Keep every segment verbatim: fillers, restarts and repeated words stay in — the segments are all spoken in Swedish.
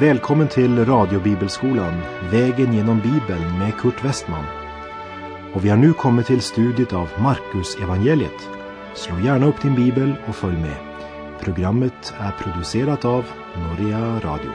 Välkommen till radiobibelskolan, vägen genom Bibeln med Kurt Westman. Och vi har nu kommit till studiet av Markus evangeliet. Slå gärna upp din bibel och följ med. Programmet är producerat av Norea Radio.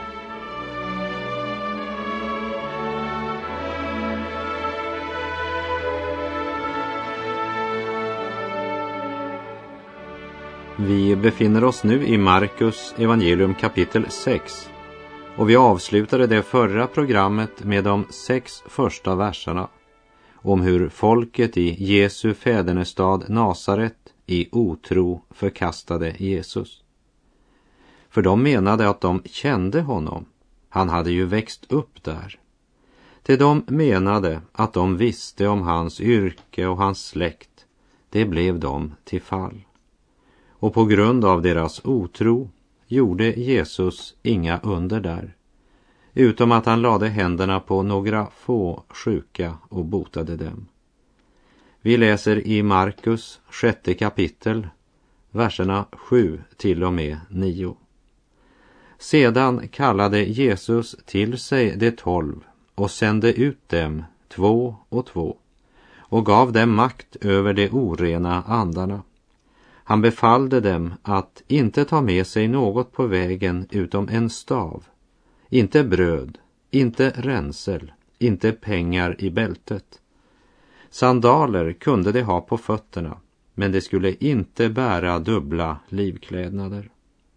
Vi befinner oss nu i Markus evangelium kapitel sex. Och vi avslutade det förra programmet med de sex första verserna om hur folket i Jesu fädernestad Nasaret i otro förkastade Jesus. För de menade att de kände honom. Han hade ju växt upp där. Till de menade att de visste om hans yrke och hans släkt. Det blev dem till fall. Och på grund av deras otro gjorde Jesus inga under där, utom att han lade händerna på några få sjuka och botade dem. Vi läser i Markus sjätte kapitel, verserna sju till och med nio. Sedan kallade Jesus till sig de tolv och sände ut dem två och två och gav dem makt över de orena andarna. Han befallde dem att inte ta med sig något på vägen utom en stav, inte bröd, inte ränsel, inte pengar i bältet. Sandaler kunde de ha på fötterna, men de skulle inte bära dubbla livklädnader.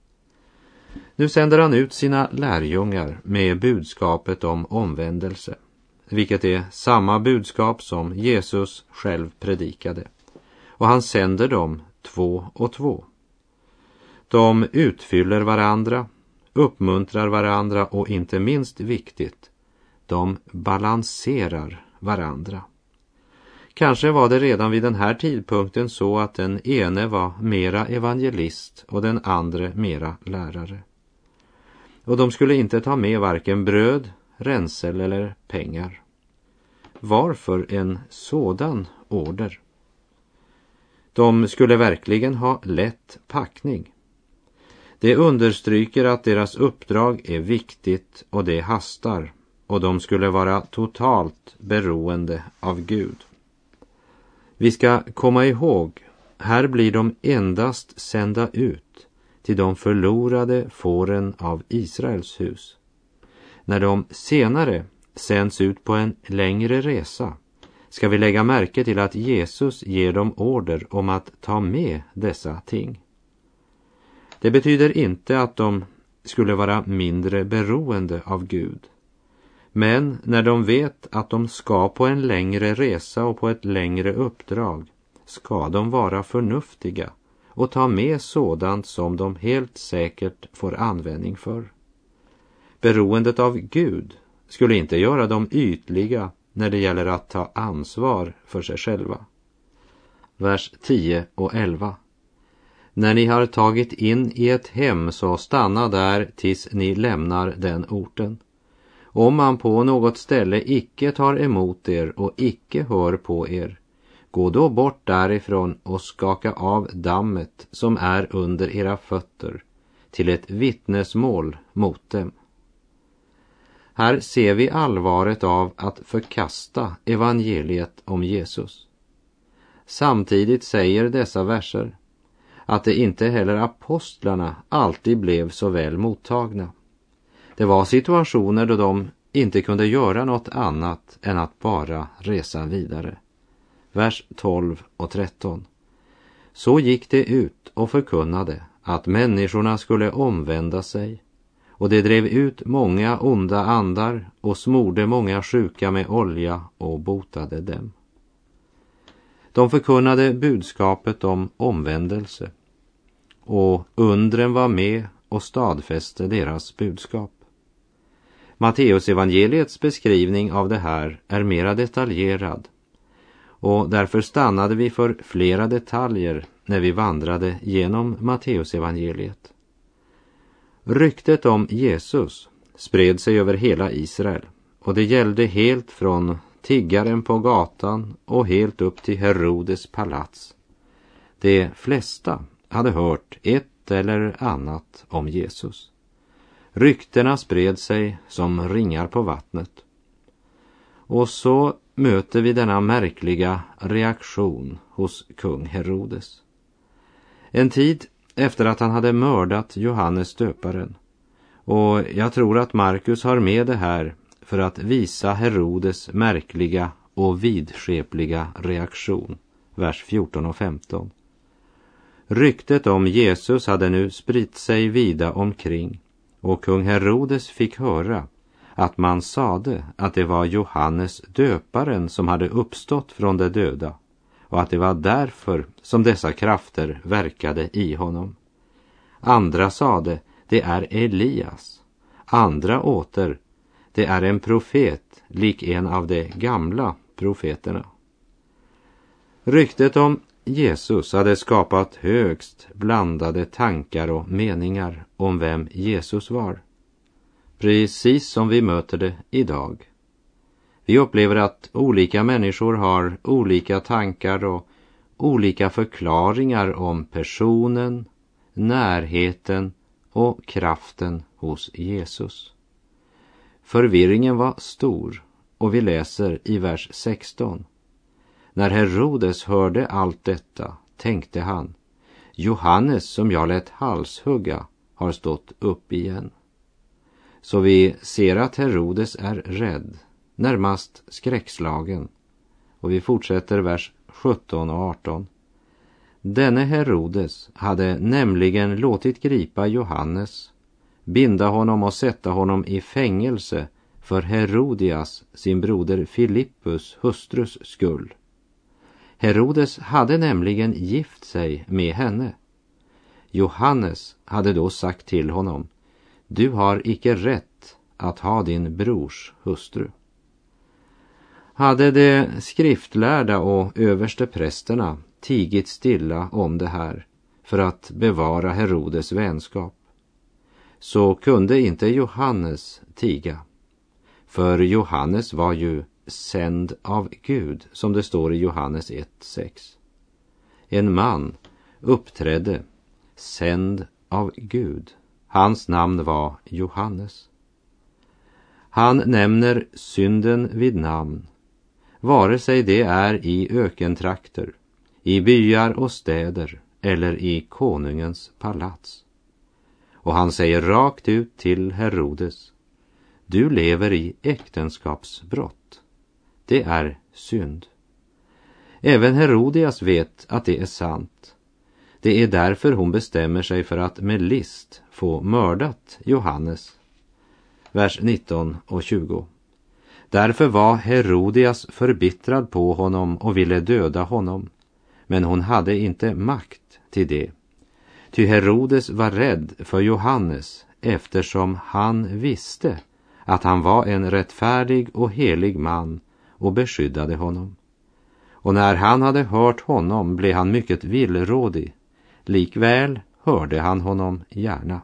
Nu sänder han ut sina lärjungar med budskapet om omvändelse, vilket är samma budskap som Jesus själv predikade. Och han sänder dem två och två. De utfyller varandra, uppmuntrar varandra och inte minst viktigt, de balanserar varandra. Kanske var det redan vid den här tidpunkten så att den ene var mera evangelist och den andra mera lärare. Och de skulle inte ta med varken bröd, ränsel eller pengar. Varför en sådan order? De skulle verkligen ha lätt packning. Det understryker att deras uppdrag är viktigt och det hastar, och de skulle vara totalt beroende av Gud. Vi ska komma ihåg, här blir de endast sända ut till de förlorade fåren av Israels hus. När de senare sänds ut på en längre resa ska vi lägga märke till att Jesus ger dem order om att ta med dessa ting. Det betyder inte att de skulle vara mindre beroende av Gud. Men när de vet att de ska på en längre resa och på ett längre uppdrag ska de vara förnuftiga och ta med sådant som de helt säkert får användning för. Beroendet av Gud skulle inte göra dem ytliga när det gäller att ta ansvar för sig själva. Vers tio och elva. När ni har tagit in i ett hem så stanna där tills ni lämnar den orten. Om man på något ställe icke tar emot er och icke hör på er, gå då bort därifrån och skaka av dammet som är under era fötter till ett vittnesmål mot dem. Här ser vi allvaret av att förkasta evangeliet om Jesus. Samtidigt säger dessa verser att det inte heller apostlarna alltid blev så väl mottagna. Det var situationer då de inte kunde göra något annat än att bara resa vidare. Vers tolv och tretton. Så gick det ut och förkunnade att människorna skulle omvända sig, och det drev ut många onda andar och smorde många sjuka med olja och botade dem. De förkunnade budskapet om omvändelse, och undren var med och stadfäste deras budskap. Matteus evangeliets beskrivning av det här är mera detaljerad, och därför stannade vi för flera detaljer när vi vandrade genom Matteus evangeliet. Ryktet om Jesus spred sig över hela Israel, och det gällde helt från tiggaren på gatan och helt upp till Herodes palats. De flesta hade hört ett eller annat om Jesus. Ryktena spred sig som ringar på vattnet. Och så möter vi denna märkliga reaktion hos kung Herodes. En tid efter att han hade mördat Johannes döparen. Och jag tror att Markus har med det här för att visa Herodes märkliga och vidskepliga reaktion. Vers fjorton och femton. Ryktet om Jesus hade nu spritt sig vida omkring, och kung Herodes fick höra att man sade att det var Johannes döparen som hade uppstått från de döda, och att det var därför som dessa krafter verkade i honom. Andra sade, det är Elias. Andra åter, det är en profet, lik en av de gamla profeterna. Ryktet om Jesus hade skapat högst blandade tankar och meningar om vem Jesus var. Precis som vi möter det idag. Vi upplever att olika människor har olika tankar och olika förklaringar om personen, närheten och kraften hos Jesus. Förvirringen var stor, och vi läser i vers sexton. När Herodes hörde allt detta tänkte han, Johannes som jag lät halshugga har stått upp igen. Så vi ser att Herodes är rädd, närmast skräckslagen. Och vi fortsätter vers sjutton och arton. Denne Herodes hade nämligen låtit gripa Johannes, binda honom och sätta honom i fängelse för Herodias, sin broder Filippus hustrus skull. Herodes hade nämligen gift sig med henne. Johannes hade då sagt till honom, du har icke rätt att ha din brors hustru. Hade de skriftlärda och översteprästerna tigit stilla om det här för att bevara Herodes vänskap, så kunde inte Johannes tiga. För Johannes var ju sänd av Gud, som det står i Johannes ett sex. En man uppträdde sänd av Gud. Hans namn var Johannes. Han nämner synden vid namn, vare sig det är i ökentrakter, i byar och städer eller i konungens palats. Och han säger rakt ut till Herodes, du lever i äktenskapsbrott. Det är synd. Även Herodias vet att det är sant. Det är därför hon bestämmer sig för att med list få mördat Johannes. Vers nitton och tjugo. Därför var Herodias förbittrad på honom och ville döda honom. Men hon hade inte makt till det. Ty Herodes var rädd för Johannes eftersom han visste att han var en rättfärdig och helig man och beskyddade honom. Och när han hade hört honom blev han mycket villrådig. Likväl hörde han honom gärna.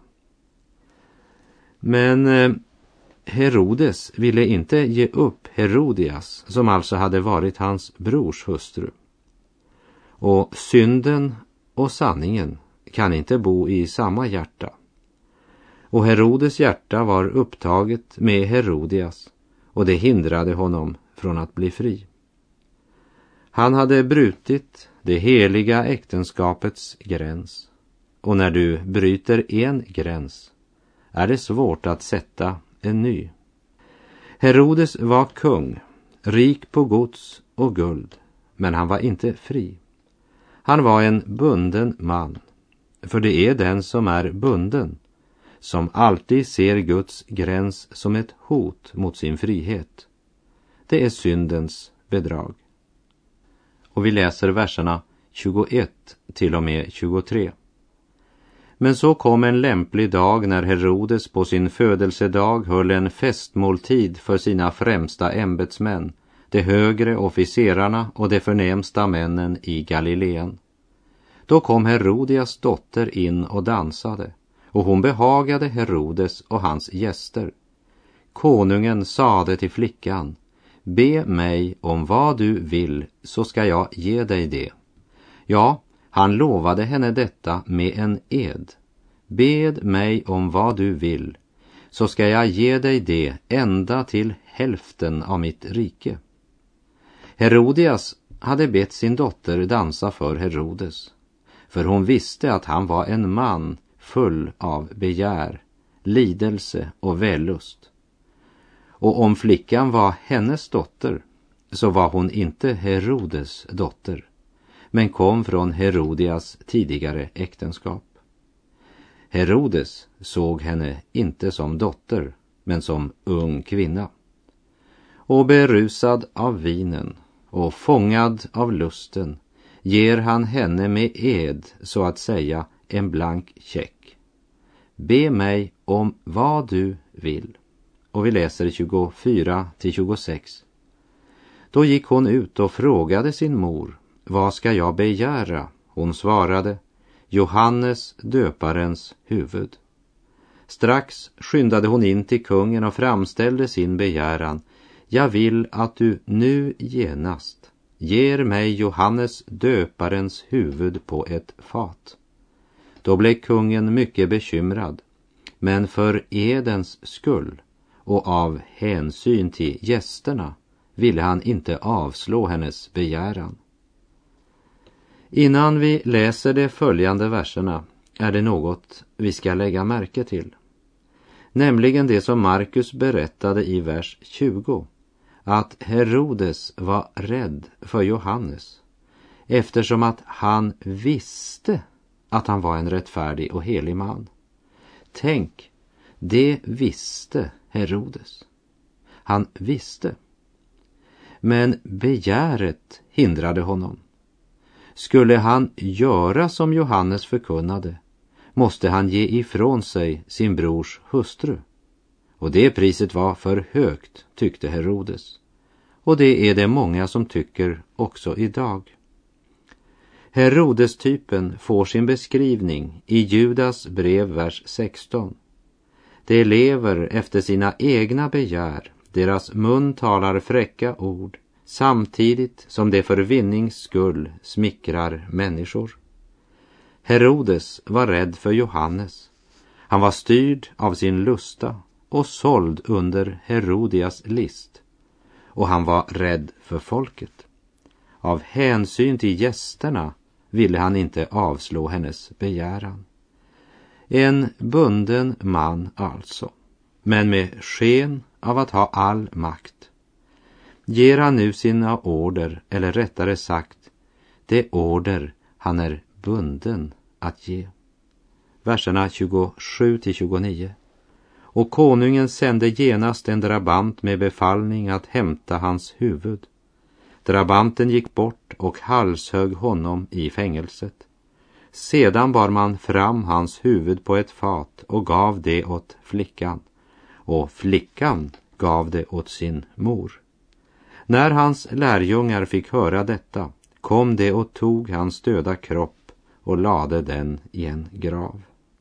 Men eh, Herodes ville inte ge upp Herodias, som alltså hade varit hans brors hustru. Och synden och sanningen kan inte bo i samma hjärta. Och Herodes hjärta var upptaget med Herodias, och det hindrade honom från att bli fri. Han hade brutit det heliga äktenskapets gräns, och när du bryter en gräns är det svårt att sätta en ny. Herodes var kung, rik på gods och guld, men han var inte fri. Han var en bunden man, för det är den som är bunden som alltid ser Guds gräns som ett hot mot sin frihet. Det är syndens bedrag. Och vi läser verserna tjugoett till och med tjugotre. Men så kom en lämplig dag när Herodes på sin födelsedag höll en festmåltid för sina främsta ämbetsmän, de högre officerarna och de förnämsta männen i Galileen. Då kom Herodias dotter in och dansade, och hon behagade Herodes och hans gäster. Konungen sade till flickan, be mig om vad du vill så ska jag ge dig det. Ja, han lovade henne detta med en ed. Bed mig om vad du vill, så ska jag ge dig det ända till hälften av mitt rike. Herodias hade bett sin dotter dansa för Herodes, för hon visste att han var en man full av begär, lidelse och vällust. Och om flickan var hennes dotter, så var hon inte Herodes dotter, men kom från Herodias tidigare äktenskap. Herodes såg henne inte som dotter, men som ung kvinna. Och berusad av vinen och fångad av lusten ger han henne med ed, så att säga, en blank check. Be mig om vad du vill. Och vi läser tjugofyra till tjugosex. Då gick hon ut och frågade sin mor, vad ska jag begära? Hon svarade, Johannes döparens huvud. Strax skyndade hon in till kungen och framställde sin begäran. Jag vill att du nu genast ger mig Johannes döparens huvud på ett fat. Då blev kungen mycket bekymrad, men för edens skull och av hänsyn till gästerna ville han inte avslå hennes begäran. Innan vi läser de följande verserna är det något vi ska lägga märke till. Nämligen det som Markus berättade i vers tjugo, att Herodes var rädd för Johannes eftersom att han visste att han var en rättfärdig och helig man. Tänk, det visste Herodes. Han visste. Men begäret hindrade honom. Skulle han göra som Johannes förkunnade, måste han ge ifrån sig sin brors hustru. Och det priset var för högt, tyckte Herodes. Och det är det många som tycker också idag. Herodes-typen får sin beskrivning i Judas brev vers sexton. De lever efter sina egna begär, deras mun talar fräcka ord, samtidigt som det för vinnings skull smickrar människor. Herodes var rädd för Johannes. Han var styrd av sin lusta och såld under Herodias list. Och han var rädd för folket. Av hänsyn till gästerna ville han inte avslå hennes begäran. En bunden man alltså, men med sken av att ha all makt. Ger han nu sina order, eller rättare sagt, det order han är bunden att ge. Verserna tjugosju till tjugonio. Och konungen sände genast en drabant med befallning att hämta hans huvud. Drabanten gick bort och halshögg honom i fängelset. Sedan bar man fram hans huvud på ett fat och gav det åt flickan. Och flickan gav det åt sin mor. När hans lärjungar fick höra detta, kom det och tog hans döda kropp och lade den i en grav.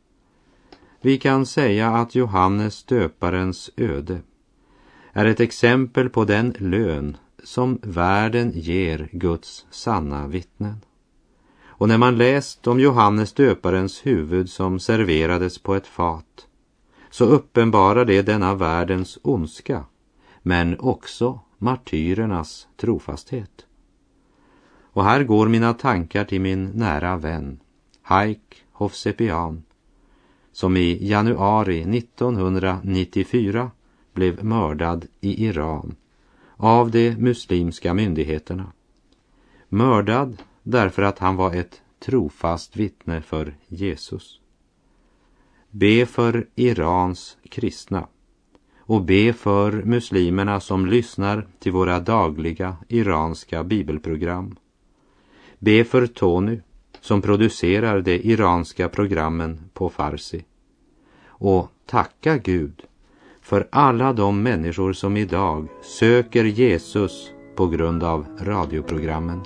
Vi kan säga att Johannes döparens öde är ett exempel på den lön som världen ger Guds sanna vittnen. Och när man läst om Johannes döparens huvud som serverades på ett fat, så uppenbarar det denna världens ondska, men också martyrernas trofasthet. Och här går mina tankar till min nära vän, Haik Hovsepian, som i januari nittonhundranittiofyra blev mördad i Iran av de muslimska myndigheterna. Mördad därför att han var ett trofast vittne för Jesus. Be för Irans kristna och be för muslimerna som lyssnar till våra dagliga iranska bibelprogram. Be för Tony som producerar de iranska programmen på farsi. Och tacka Gud för alla de människor som idag söker Jesus på grund av radioprogrammen.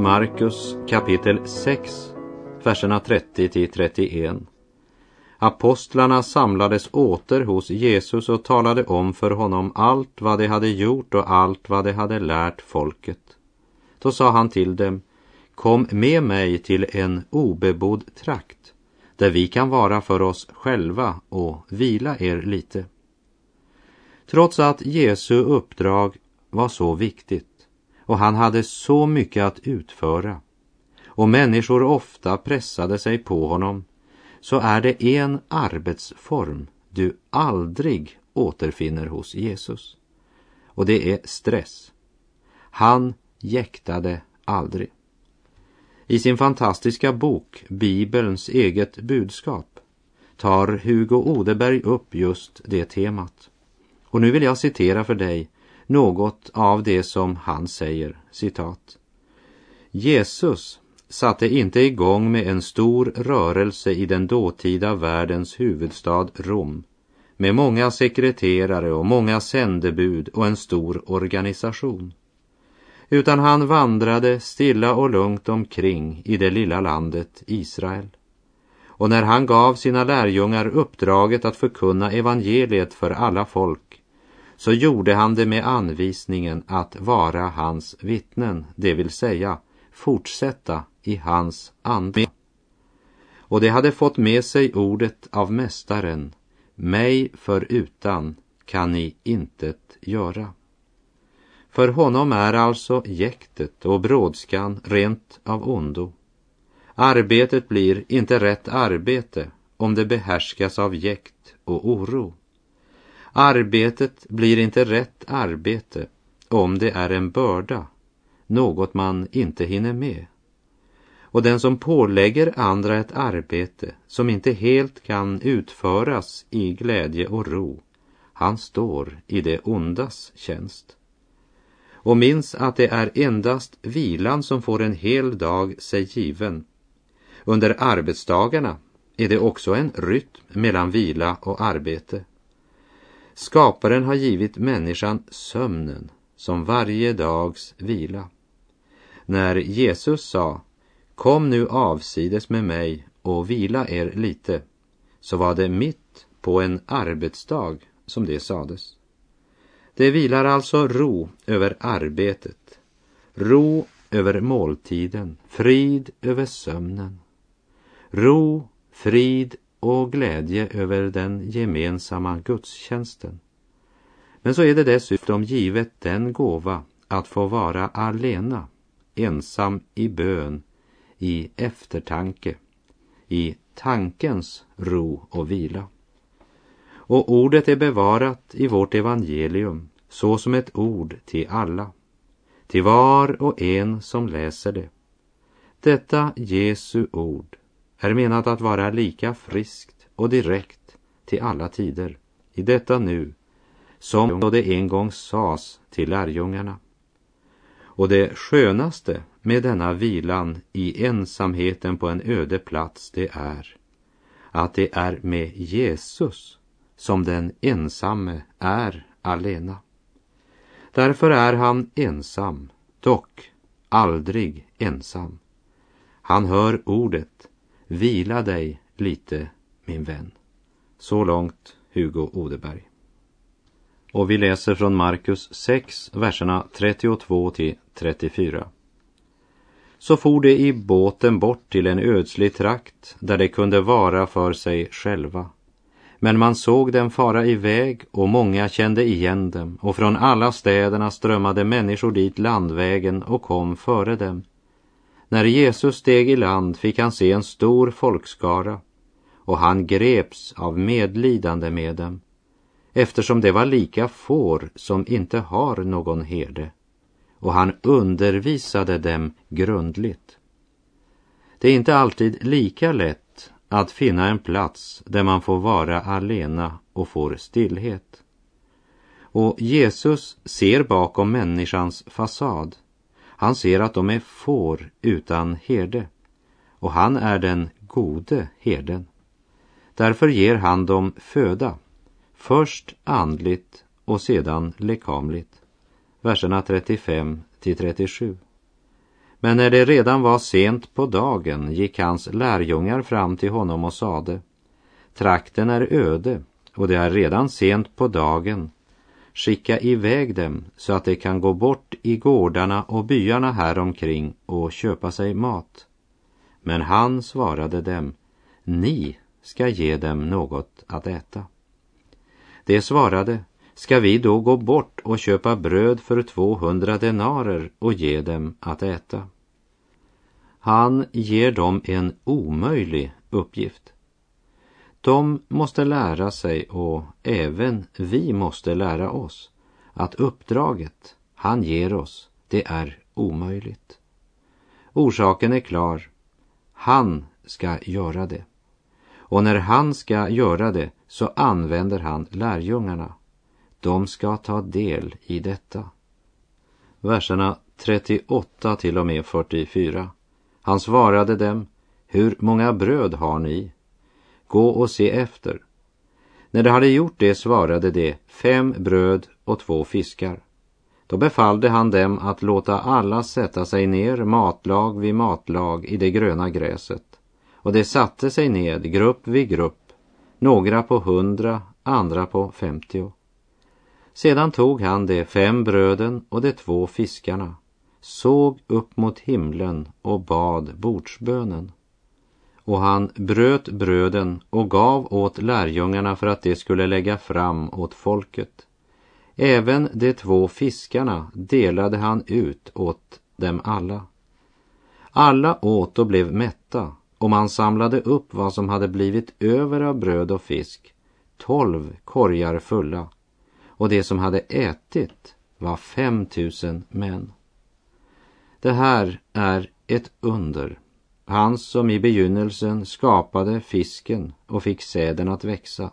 Markus kapitel sex, verserna trettio till trettioen. Apostlarna samlades åter hos Jesus och talade om för honom allt vad de hade gjort och allt vad de hade lärt folket. Då sa han till dem: kom med mig till en obebodd trakt, där vi kan vara för oss själva och vila er lite. Trots att Jesu uppdrag var så viktigt och han hade så mycket att utföra och människor ofta pressade sig på honom, så är det en arbetsform du aldrig återfinner hos Jesus. Och det är stress. Han jäktade aldrig. I sin fantastiska bok Bibelns eget budskap tar Hugo Odeberg upp just det temat. Och nu vill jag citera för dig något av det som han säger, citat. Jesus satte inte igång med en stor rörelse i den dåtida världens huvudstad Rom, med många sekreterare och många sändebud och en stor organisation. Utan han vandrade stilla och lugnt omkring i det lilla landet Israel. Och när han gav sina lärjungar uppdraget att förkunna evangeliet för alla folk, så gjorde han det med anvisningen att vara hans vittnen, det vill säga fortsätta i hans ande. Och det hade fått med sig ordet av mästaren: mig förutan kan ni intet göra. För honom är alltså jäktet och brådskan rent av ondo. Arbetet blir inte rätt arbete om det behärskas av jäkt och oro. Arbetet blir inte rätt arbete om det är en börda, något man inte hinner med. Och den som pålägger andra ett arbete som inte helt kan utföras i glädje och ro, han står i det ondas tjänst. Och minns att det är endast vilan som får en hel dag sig given. Under arbetsdagarna är det också en rytm mellan vila och arbete. Skaparen har givit människan sömnen som varje dags vila. När Jesus sa: kom nu avsides med mig och vila er lite, så var det mitt på en arbetsdag som det sades. Det vilar alltså ro över arbetet, ro över måltiden, frid över sömnen, ro, frid och glädje över den gemensamma gudstjänsten. Men så är det dessutom givet den gåva att få vara alena, ensam i bön, i eftertanke, i tankens ro och vila. Och ordet är bevarat i vårt evangelium så som ett ord till alla, till var och en som läser det. Detta Jesu ord är menat att vara lika friskt och direkt till alla tider, i detta nu, som då det en gång sades till lärjungarna. Och det skönaste med denna vilan i ensamheten på en öde plats, det är att det är med Jesus som den ensamme är alena. Därför är han ensam, dock aldrig ensam. Han hör ordet: vila dig lite, min vän. Så långt Hugo Odeberg. Och vi läser från Markus sex, verserna trettiotvå till trettiofyra. Så for de i båten bort till en ödslig trakt där de kunde vara för sig själva. Men man såg dem fara iväg och många kände igen dem, och från alla städerna strömmade människor dit landvägen och kom före dem. När Jesus steg i land fick han se en stor folkskara, och han greps av medlidande med dem, eftersom det var lika får som inte har någon herde, och han undervisade dem grundligt. Det är inte alltid lika lätt att finna en plats där man får vara alena och får stillhet. Och Jesus ser bakom människans fasad. Han ser att de är får utan herde, och han är den gode herden. Därför ger han dem föda, först andligt och sedan lekamligt. Verserna trettiofem till trettiosju. Men när det redan var sent på dagen gick hans lärjungar fram till honom och sade: trakten är öde och det är redan sent på dagen. Skicka iväg dem så att de kan gå bort i gårdarna och byarna här omkring och köpa sig mat. Men han svarade dem: ni ska ge dem något att äta. De svarade: ska vi då gå bort och köpa bröd för tvåhundra denarer och ge dem att äta? Han ger dem en omöjlig uppgift. De måste lära sig, och även vi måste lära oss, att uppdraget han ger oss, det är omöjligt. Orsaken är klar. Han ska göra det. Och när han ska göra det så använder han lärjungarna. De ska ta del i detta. Verserna trettioåtta till och med fyrtiofyra. Han svarade dem: hur många bröd har ni? Gå och se efter. När de hade gjort det svarade de: fem bröd och två fiskar. Då befallde han dem att låta alla sätta sig ner matlag vid matlag i det gröna gräset. Och de satte sig ned grupp vid grupp, några på hundra, andra på femtio. Sedan tog han de fem bröden och de två fiskarna, såg upp mot himlen och bad bordsbönen. Och han bröt bröden och gav åt lärjungarna för att de skulle lägga fram åt folket. Även de två fiskarna delade han ut åt dem alla. Alla åt och blev mätta, och man samlade upp vad som hade blivit över av bröd och fisk, tolv korgar fulla, och det som hade ätit var fem tusen män. Det här är ett under. Han som i begynnelsen skapade fisken och fick säden att växa,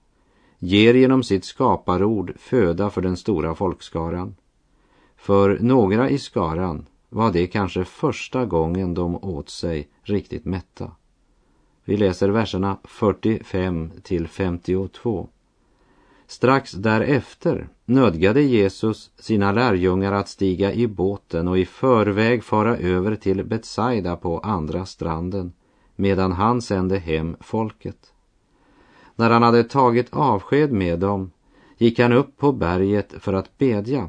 ger genom sitt skaparord föda för den stora folkskaran. För några i skaran var det kanske första gången de åt sig riktigt mätta. Vi läser verserna fyrtiofem till femtiotvå. Strax därefter nödgade Jesus sina lärjungar att stiga i båten och i förväg fara över till Betsaida på andra stranden, medan han sände hem folket. När han hade tagit avsked med dem gick han upp på berget för att bedja.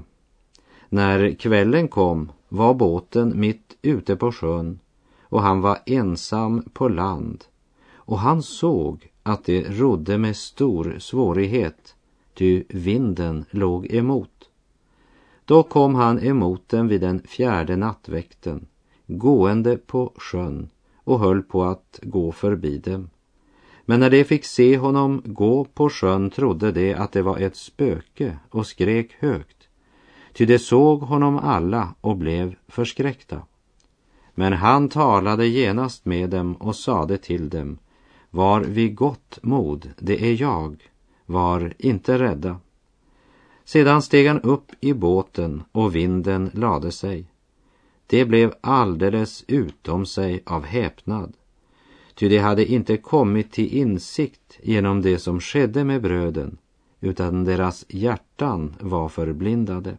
När kvällen kom var båten mitt ute på sjön, och han var ensam på land, och han såg att det rodde med stor svårighet, ty vinden låg emot. Då kom han emot dem vid den fjärde nattväkten, gående på sjön, och höll på att gå förbi dem. Men när de fick se honom gå på sjön trodde de att det var ett spöke och skrek högt, ty de såg honom alla och blev förskräckta. Men han talade genast med dem och sade till dem: var vid gott mod, det är jag, var inte rädda. Sedan steg han upp i båten och vinden lade sig. Det blev alldeles utom sig av häpnad, ty de hade inte kommit till insikt genom det som skedde med bröden, utan deras hjärtan var förblindade.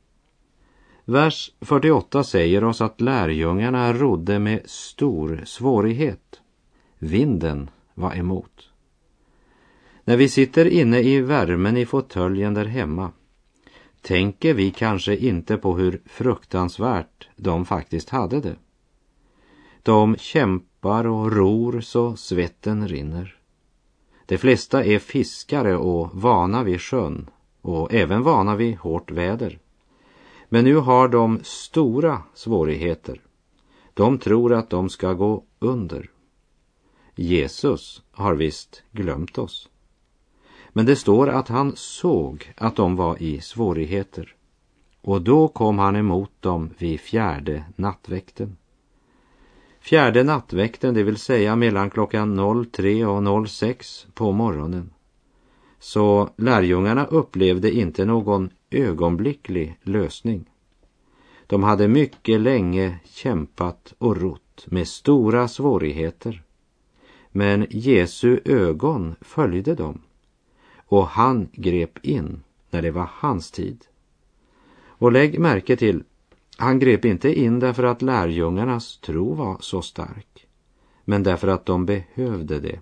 Vers fyrtioåtta säger oss att lärjungarna rodde med stor svårighet. Vinden var emot. När vi sitter inne i värmen i fåtöljen där hemma, tänker vi kanske inte på hur fruktansvärt de faktiskt hade det. De kämpar och ror så svetten rinner. De flesta är fiskare och vana vid sjön, och även vana vid hårt väder. Men nu har de stora svårigheter. De tror att de ska gå under. Jesus har visst glömt oss. Men det står att han såg att de var i svårigheter. Och då kom han emot dem vid fjärde nattväkten. Fjärde nattväkten, det vill säga mellan klockan tre och sex på morgonen. Så lärjungarna upplevde inte någon ögonblicklig lösning. De hade mycket länge kämpat och rott med stora svårigheter. Men Jesu ögon följde dem, och han grep in när det var hans tid. Och lägg märke till Han grep inte in därför att lärjungarnas tro var så stark, men därför att de behövde det.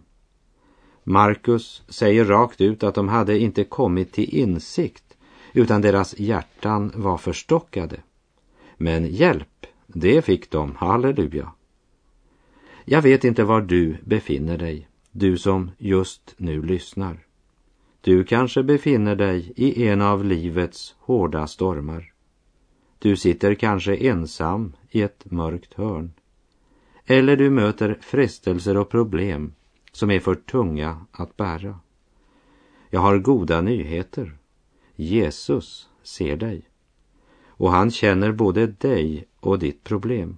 Markus säger rakt ut att de hade inte kommit till insikt, utan deras hjärtan var förstockade. Men hjälp, det fick de, halleluja. Jag vet inte var du befinner dig, du som just nu lyssnar. Du kanske befinner dig i en av livets hårda stormar. Du sitter kanske ensam i ett mörkt hörn. Eller du möter frestelser och problem som är för tunga att bära. Jag har goda nyheter. Jesus ser dig. Och han känner både dig och ditt problem.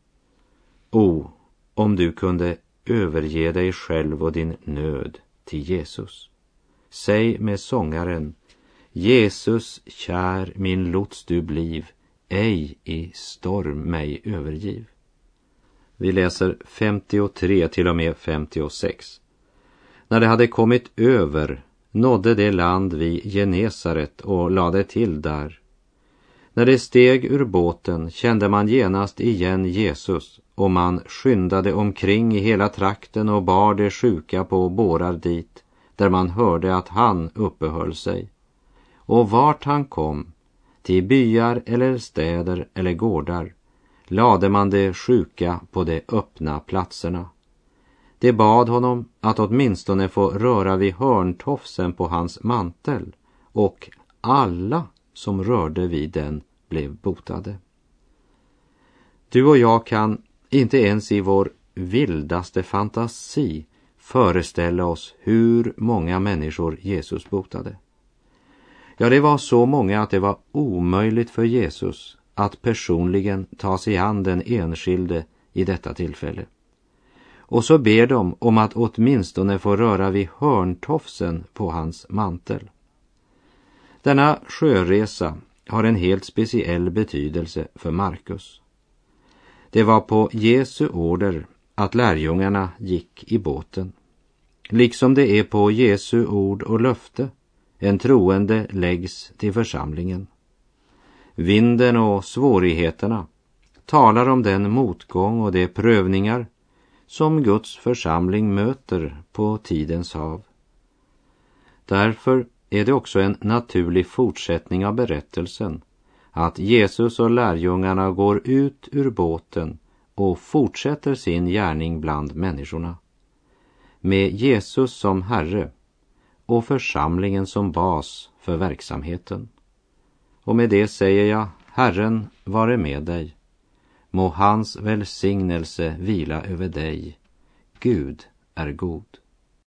O, om du kunde överge dig själv och din nöd till Jesus. Säg med sångaren: Jesus, kär min lots du bliv, ej i storm mig övergiv. Vi läser femtiotre till och med femtiosex. När det hade kommit över nådde det land vid Genesaret och lade till där. När det steg ur båten kände man genast igen Jesus, och man skyndade omkring i hela trakten och bar de sjuka på bårar dit, där man hörde att han uppehöll sig. Och vart han kom, till byar eller städer eller gårdar, lade man de sjuka på de öppna platserna. De bad honom att åtminstone få röra vid hörntofsen på hans mantel, och alla som rörde vid den blev botade. Du och jag kan inte ens i vår vildaste fantasi föreställa oss hur många människor Jesus botade. Ja, det var så många att det var omöjligt för Jesus att personligen ta sig an den enskilde i detta tillfälle. Och så ber de om att åtminstone få röra vid hörntofsen på hans mantel. Denna sjöresa har en helt speciell betydelse för Markus. Det var på Jesu order att lärjungarna gick i båten. Liksom det är på Jesu ord och löfte en troende läggs till församlingen. Vinden och svårigheterna talar om den motgång och de prövningar som Guds församling möter på tidens hav. Därför är det också en naturlig fortsättning av berättelsen att Jesus och lärjungarna går ut ur båten och fortsätter sin gärning bland människorna. Med Jesus som Herre och församlingen som bas för verksamheten. Och med det säger jag: Herren vare med dig. Må hans välsignelse vila över dig. Gud är god.